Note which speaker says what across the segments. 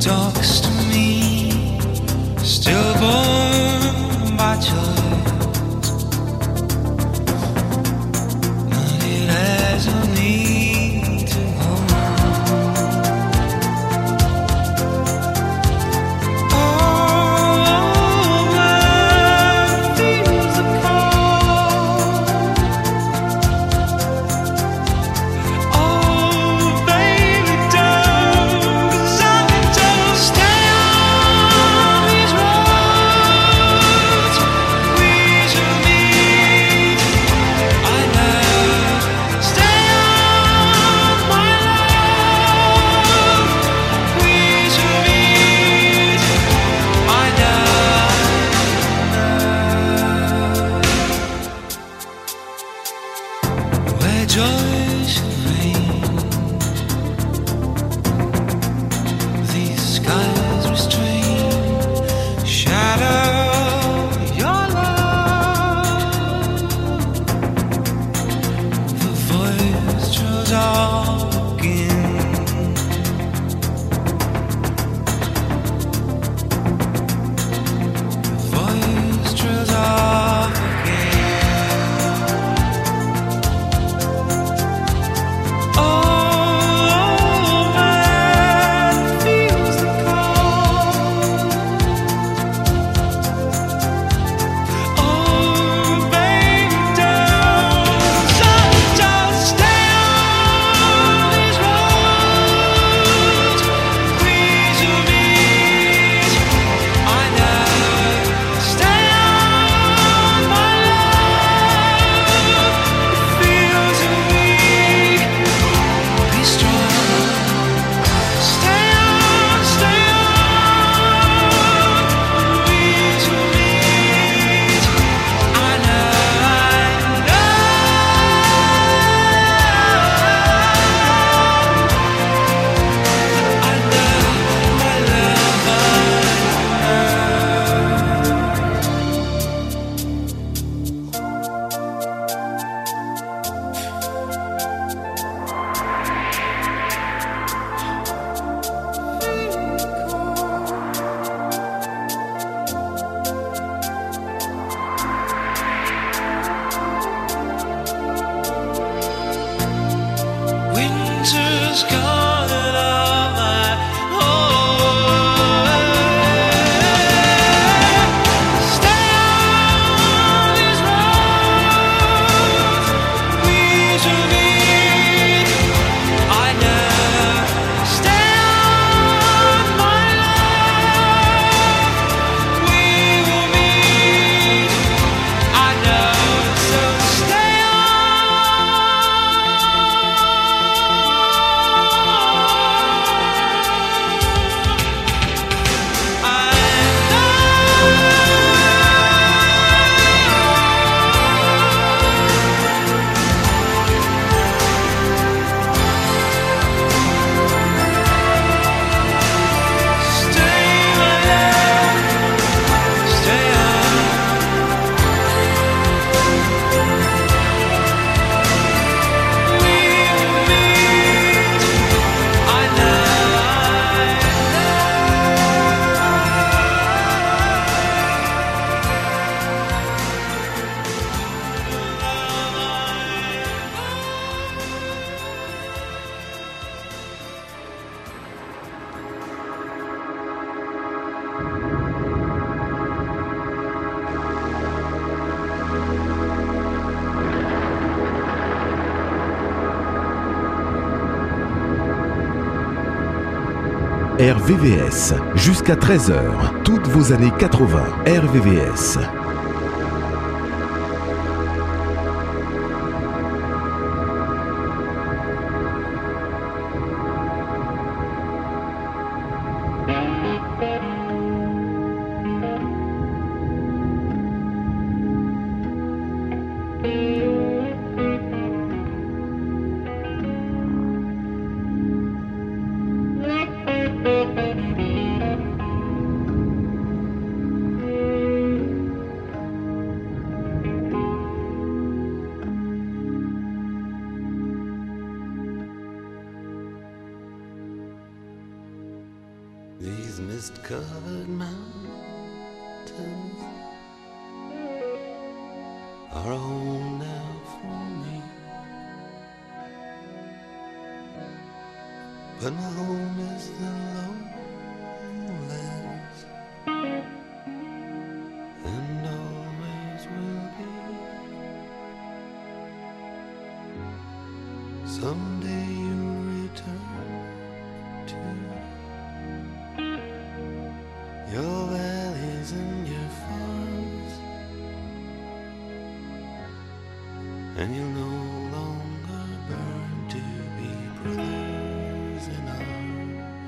Speaker 1: talks to me, stillborn by choice, but it has a need to go all over feels the call. Oh, baby, don't, 'cause I can just stay on these roads. We should meet. I love. Stay on, my love. We should meet. I love. Where joy should reign, these skies restrain. Shadow your love. The voice draws all again. The voice draws all again. Oh, man feels the call. Oh, baby, don't just stay on these roads. We should meet. I love. Stay on, my love. It feels weak. Be strong. Stay on, stay on. We should meet. I love. I love my winter's gone and all my stay on these roads. We should meet. I love. Stay on, my love. We will meet. I know. So stay
Speaker 2: RVVS, jusqu'à 13h, toutes vos années 80, RVVS.
Speaker 1: These mist-covered mountains are home now for me, but my home is the lowlands, and always will be. Someday you'll return to your valleys and your farms, and you'll no longer burn to be brothers in arms.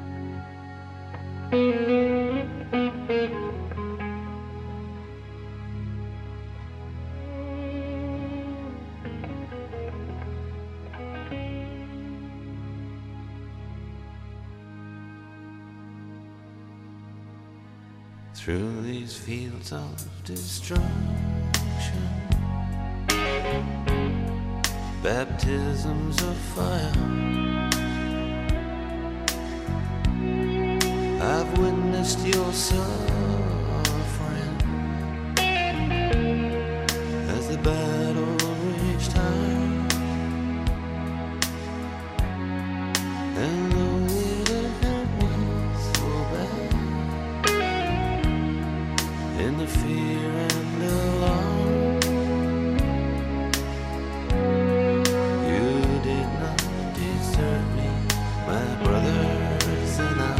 Speaker 1: Through these fields of destruction, baptisms of fire, I've witnessed your suffering as the battle reached high, and though it hurt me so bad, in the fear and alarm, you did not desert me, my brothers in arms.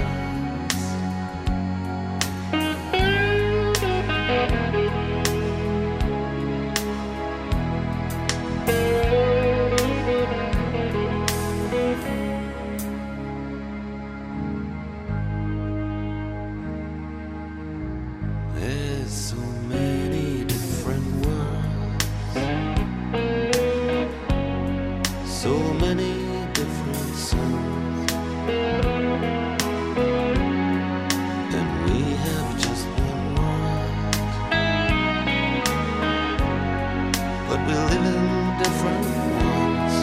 Speaker 1: There's so many different worlds, so many different suns, and we have just one world, but we live in different ones.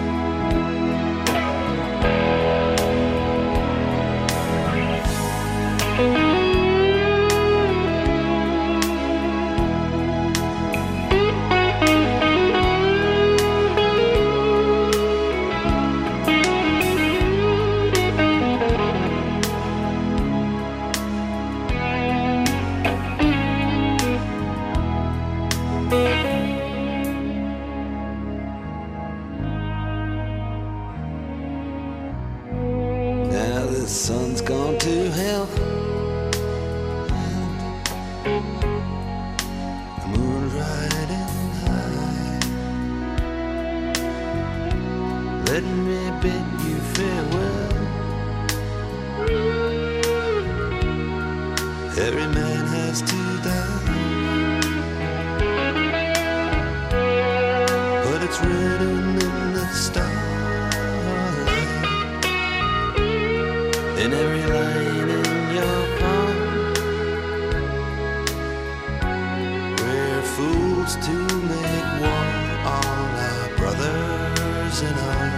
Speaker 1: Now the sun's gone to hell, and the moon's riding high. Let me bid you farewell. Every man has to die, but it's written in the starlight, in every line in your palm. We're fools to make war on our brothers in arms.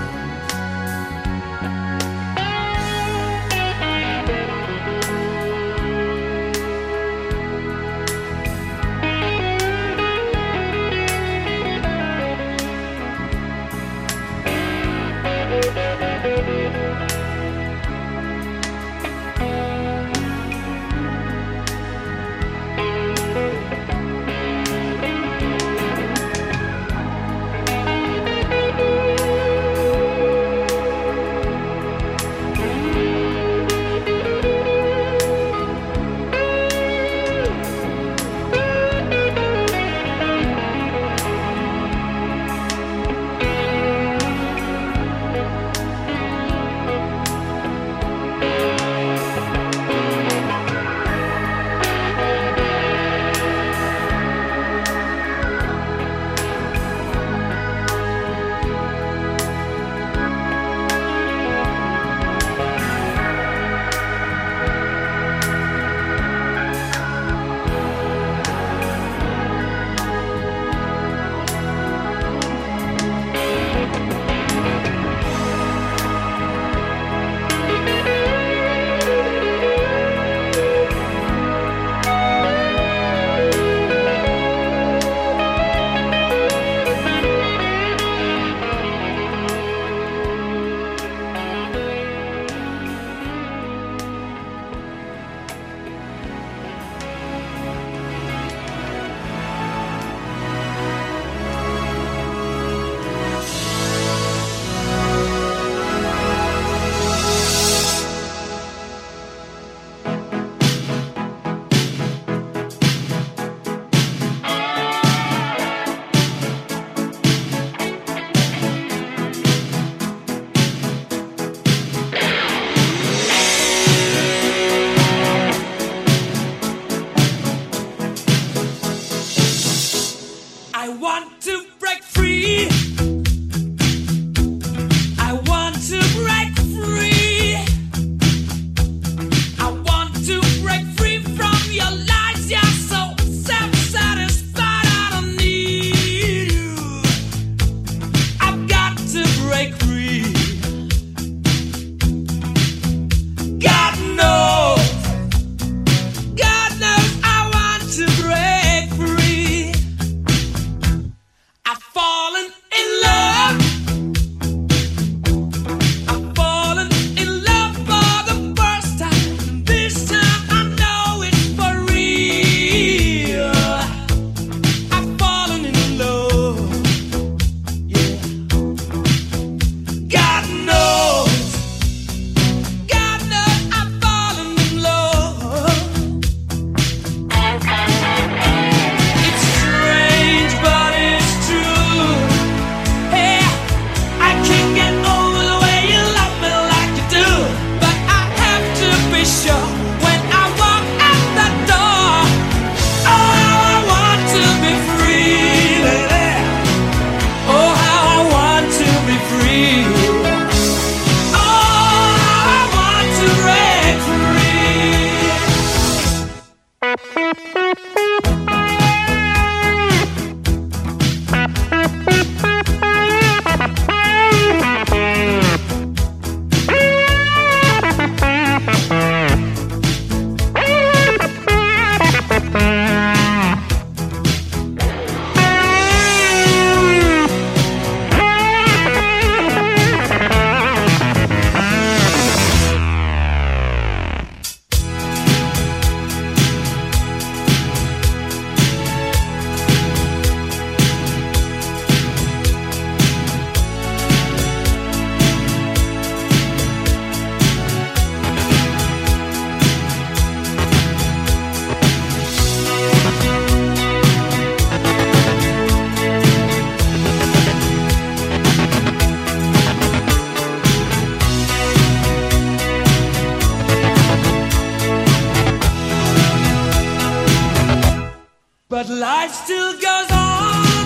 Speaker 1: life still goes on.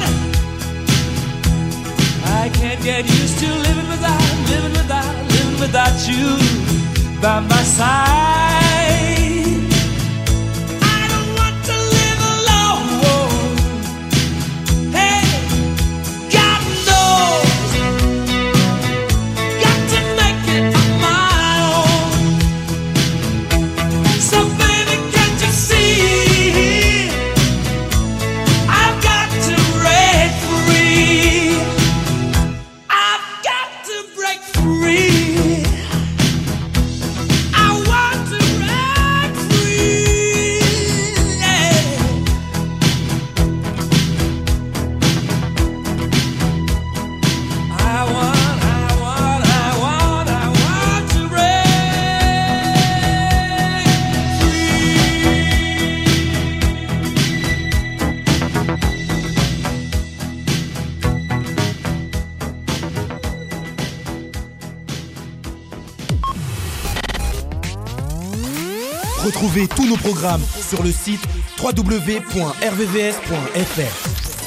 Speaker 1: I can't get used to living without you by my side. I don't want to live alone. Hey, God knows, got to make it on my own. So baby, can't you see, I've got to break free. I've got to break free. I want to break free. Yeah. I want to break
Speaker 3: Retrouvez tous nos programmes sur le site www.rvvs.fr.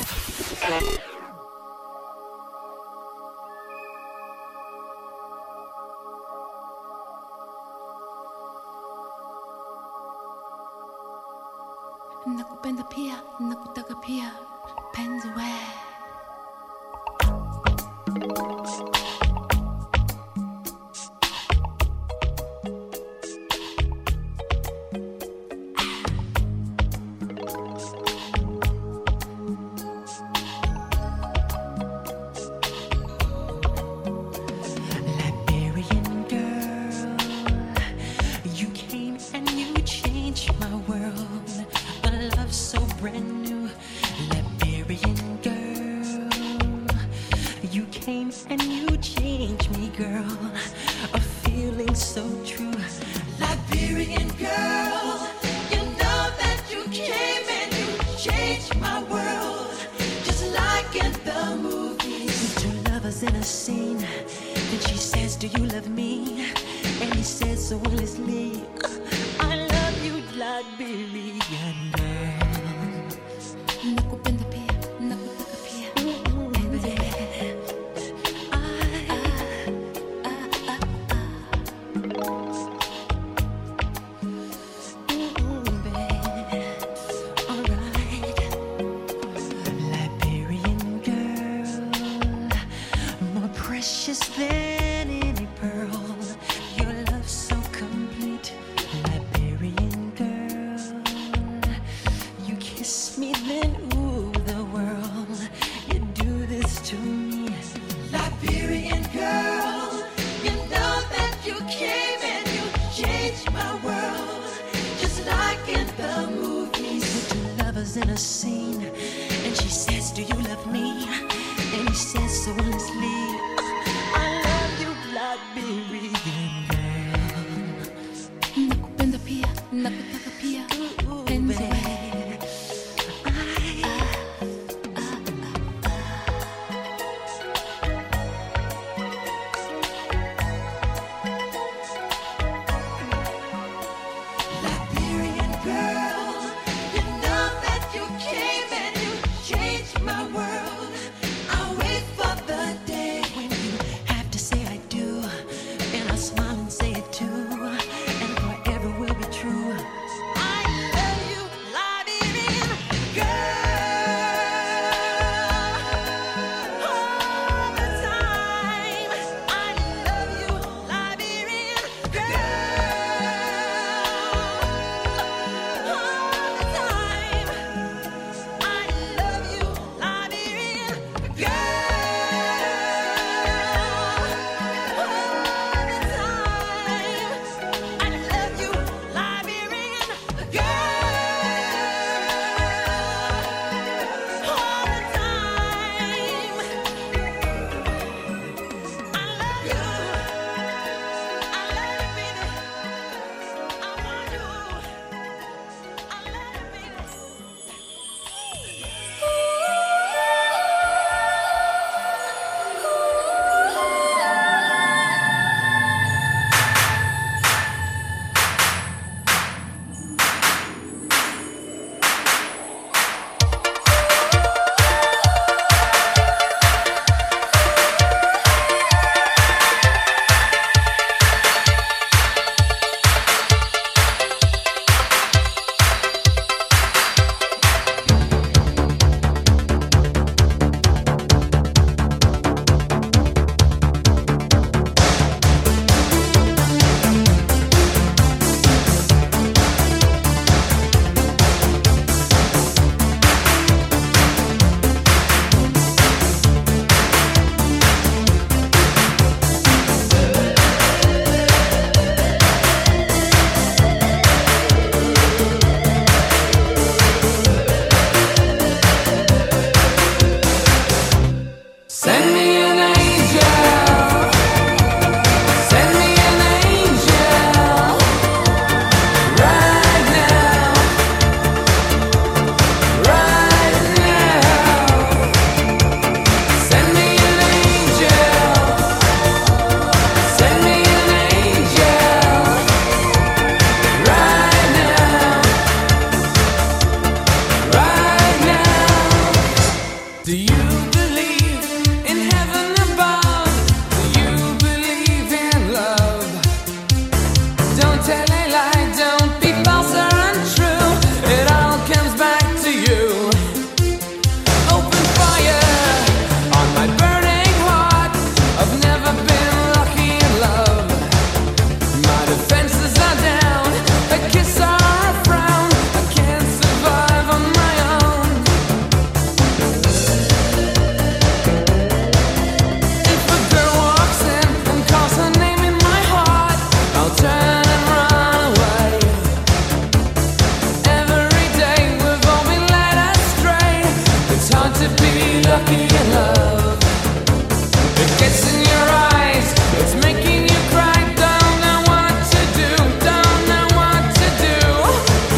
Speaker 4: Nakupenda pia, nakutaka pia, penzi we.
Speaker 5: Liberian girl, you came and you changed my world. A love so brand new. Liberian girl, you came and you changed me, girl. A feeling so true. Liberian girl, you know that you came and you changed my world. Just like in the movies. Two lovers in a scene. Then she says, do you love me? And he says so honestly, I love you, Liberian girl.
Speaker 4: Nakupenda pia, nakutaka pia, penzi we.
Speaker 5: Liberian girl, more precious than any pearl. Your love so complete. Liberian girl, you kiss me, then ooh, the world. You do this to me. Liberian girl, you know that you came and you changed my world. Just like in the movies. Two lovers in a scene. And she says, do you love me? And he says so honestly, I love you, Liberian girl.
Speaker 4: Nakupenda pia, nakutaka pia, penzi we.
Speaker 5: Liberian girl, you know that you came and you changed my world. I wait for the day when you have to say I do, and I smile and say it too, and forever will be true.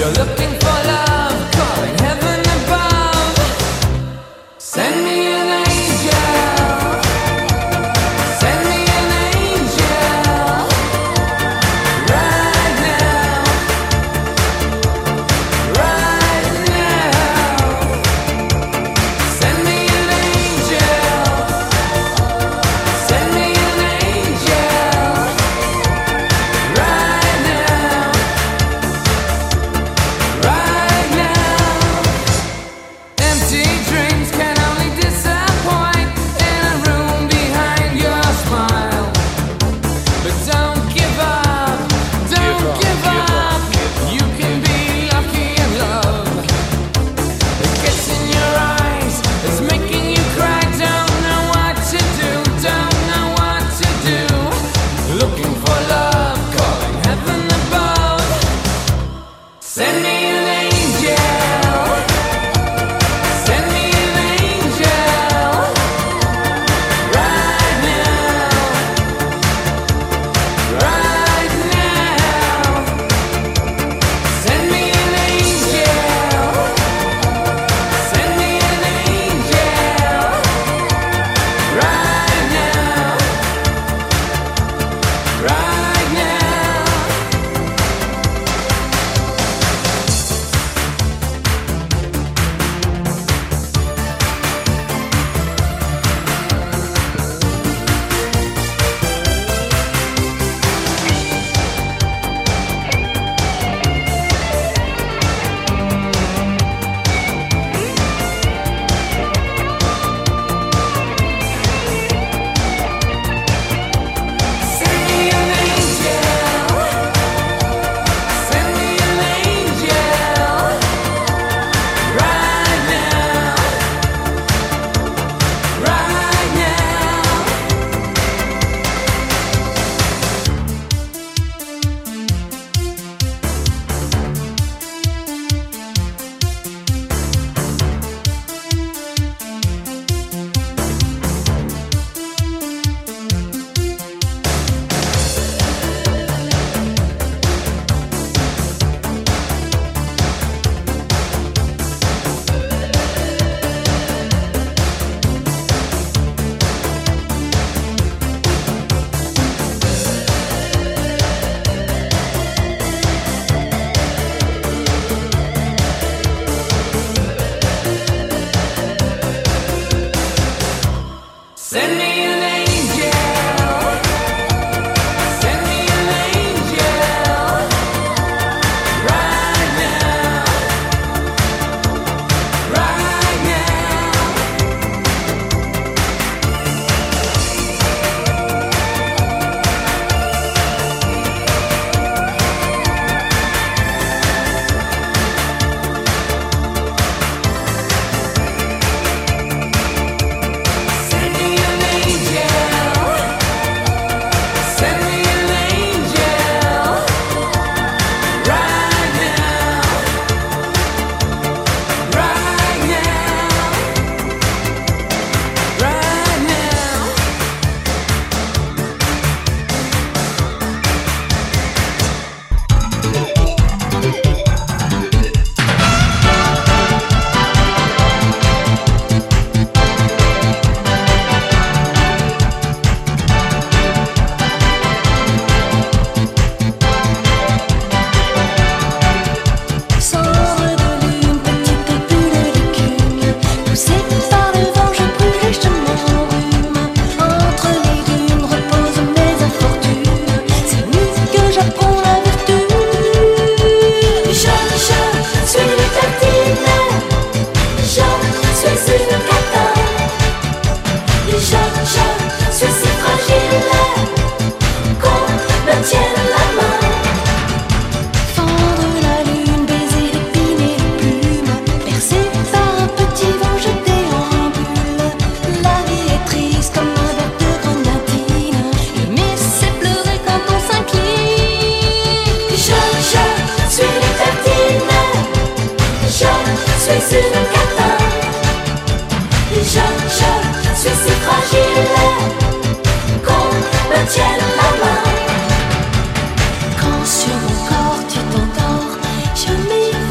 Speaker 5: Quand sur mon corps tu t'endors, je m'y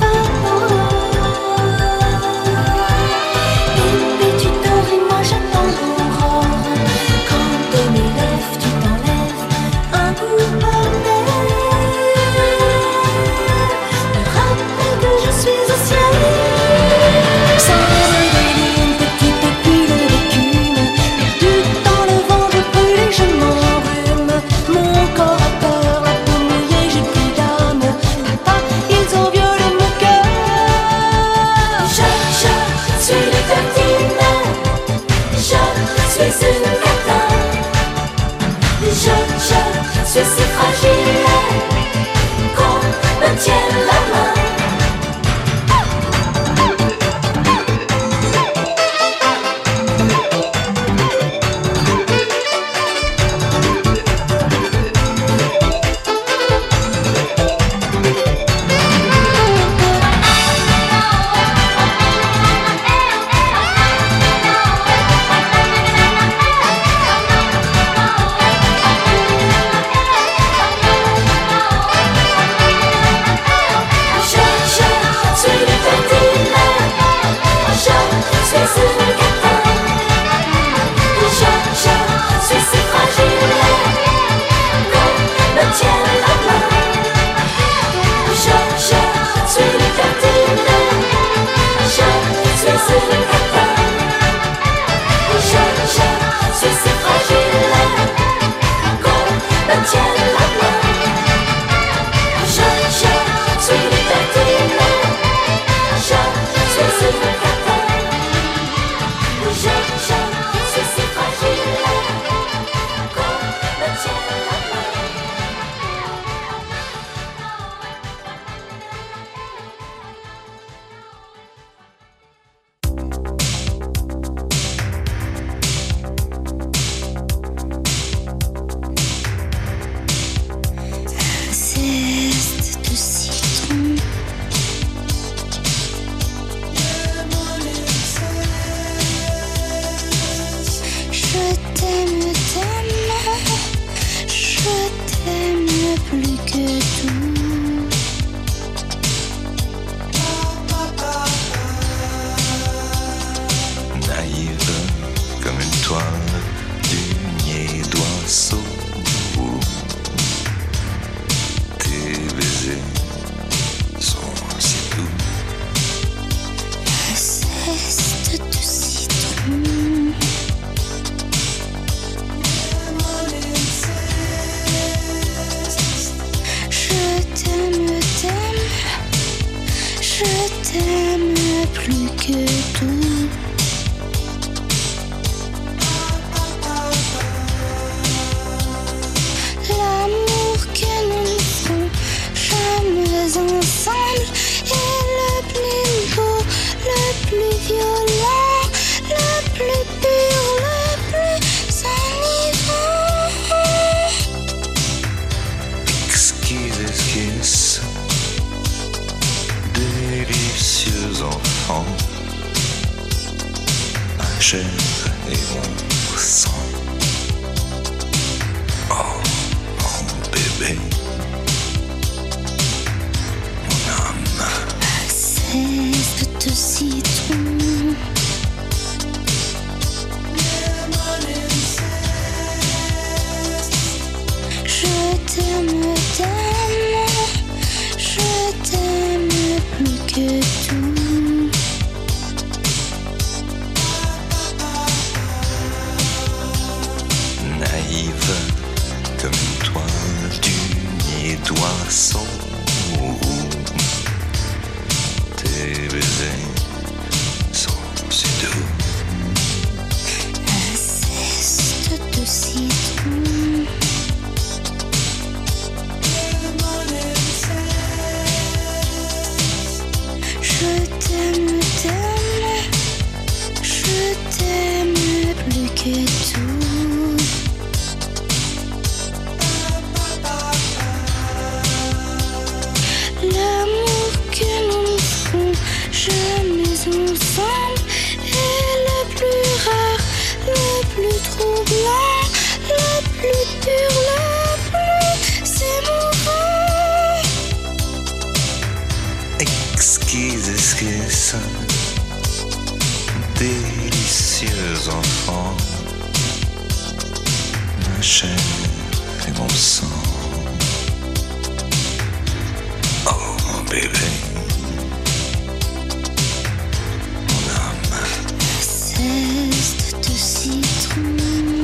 Speaker 4: Je t'aime plus que tout. L'amour que nous ne ferons jamais ensemble est le plus beau, le plus violent, le plus pur, le plus enivrant.
Speaker 1: Exquise esquisse, délicieux enfant, ma chair et mon sang. Oh, mon bébé, mon âme.
Speaker 4: Cesse de citron. Je t'aime tellement, je t'aime plus que tout.
Speaker 1: Naïve comme une toile d'unier d'oiseau. Tes baisers sont si doux.
Speaker 4: Un zeste de citron. Je t'aime tellement, je t'aime plus que tout. L'amour que nous ne ferons jamais ensemble est le plus rare, le plus troublant, le plus pur, le plus émouvant.
Speaker 1: Exquise esquisse, délicieux enfant, ma chair et mon sang. Oh mon bébé, mon âme.
Speaker 4: Zeste de citron.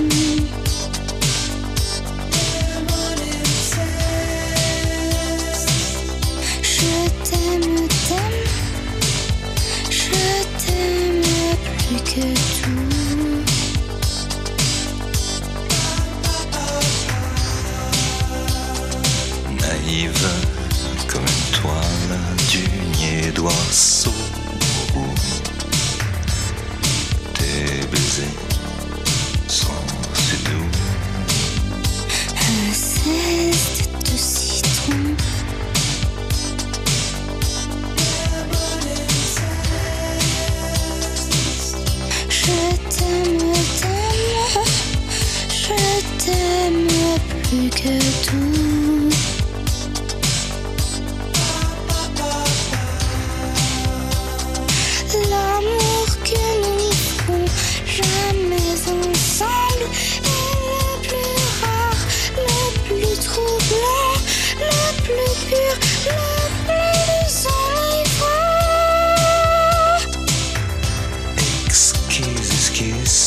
Speaker 4: Je t'aime tellement, je t'aime plus que tout.
Speaker 1: Naïve comme une toile d'unier d'oiseau. Tes baisers sont si doux.
Speaker 4: Un zeste de citron. Je t'aime tellement, je t'aime plus que tout. L'amour que nous ne ferons jamais ensemble est le plus rare, le plus troublant, le plus pur, le plus enivrant.
Speaker 1: Exquise esquisse,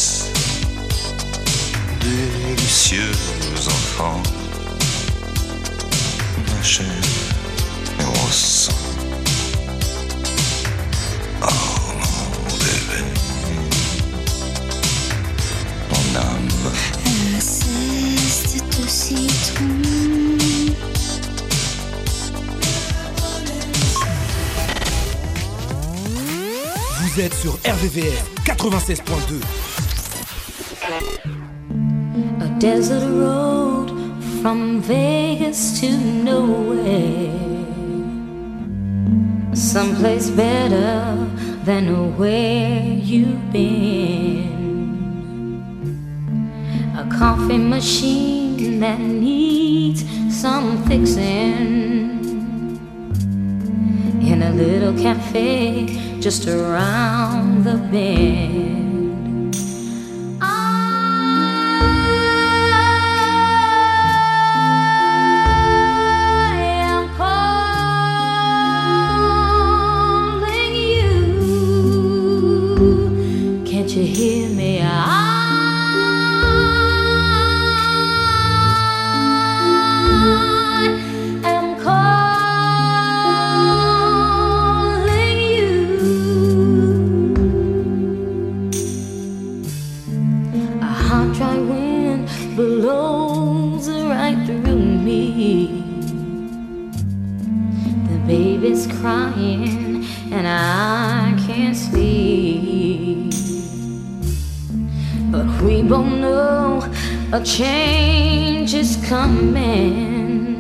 Speaker 1: délicieux enfant, ma chair et mon sang. Oh mon bébé, mon âme.
Speaker 4: Un zeste de citron.
Speaker 3: Vous êtes sur RVVS 96.2.
Speaker 6: A desert road from Vegas to nowhere. Someplace better than where you've been. A coffee machine that needs some fixing. In a little cafe just around the bend. I am calling you. Can't you hear me? I am calling baby's crying and I can't sleep. But we both know a change is coming.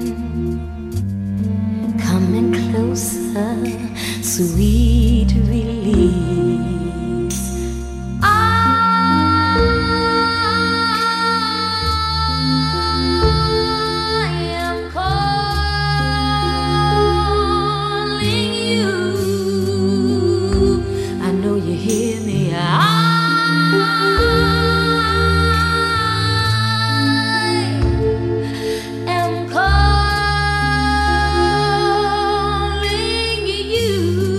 Speaker 6: Coming closer, sweet release. I am calling you. I know you hear me. I am calling you.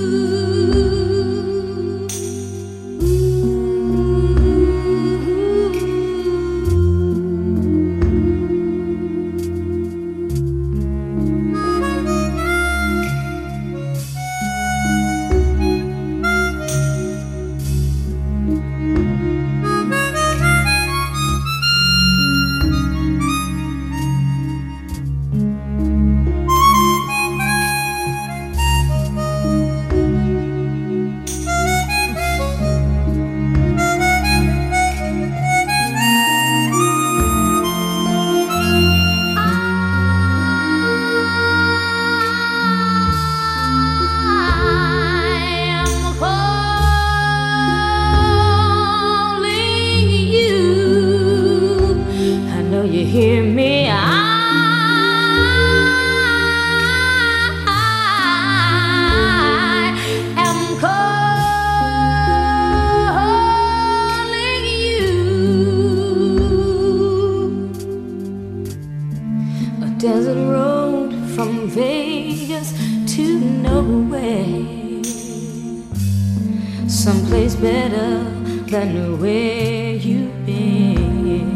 Speaker 6: You hear me? I am calling you. A desert road from Vegas to nowhere, someplace better than where you've been.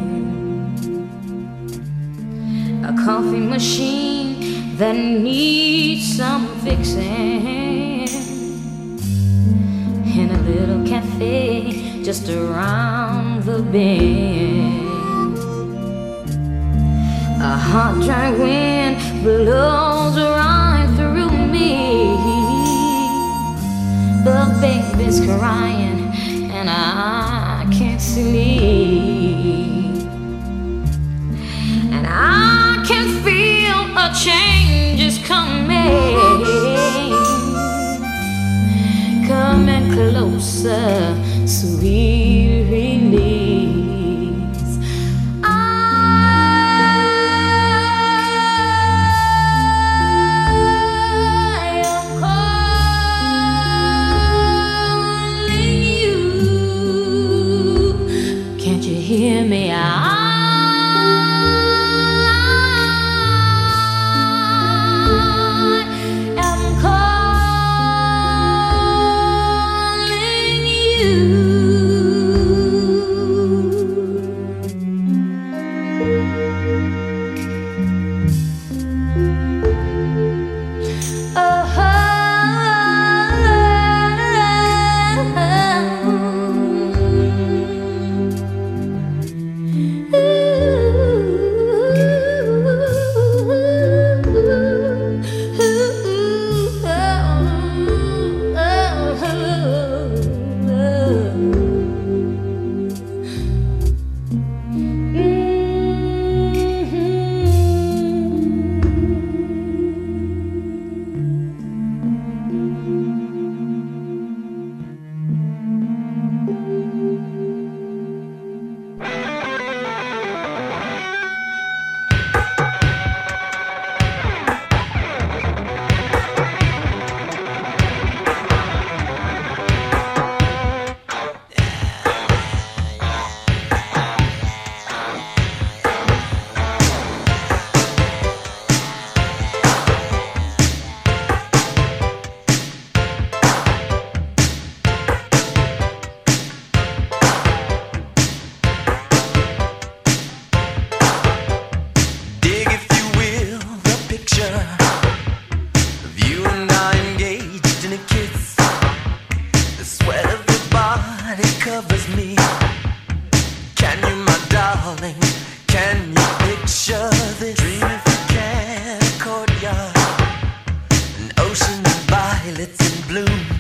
Speaker 6: A coffee machine that needs some fixing, in a little cafe just around the bend. A hot, dry wind blows right through me. The baby's crying and I can't sleep. And I can feel a change is coming. Coming closer, sweet release. I am calling you. Can't you hear me? I am calling. You
Speaker 1: violets in bloom.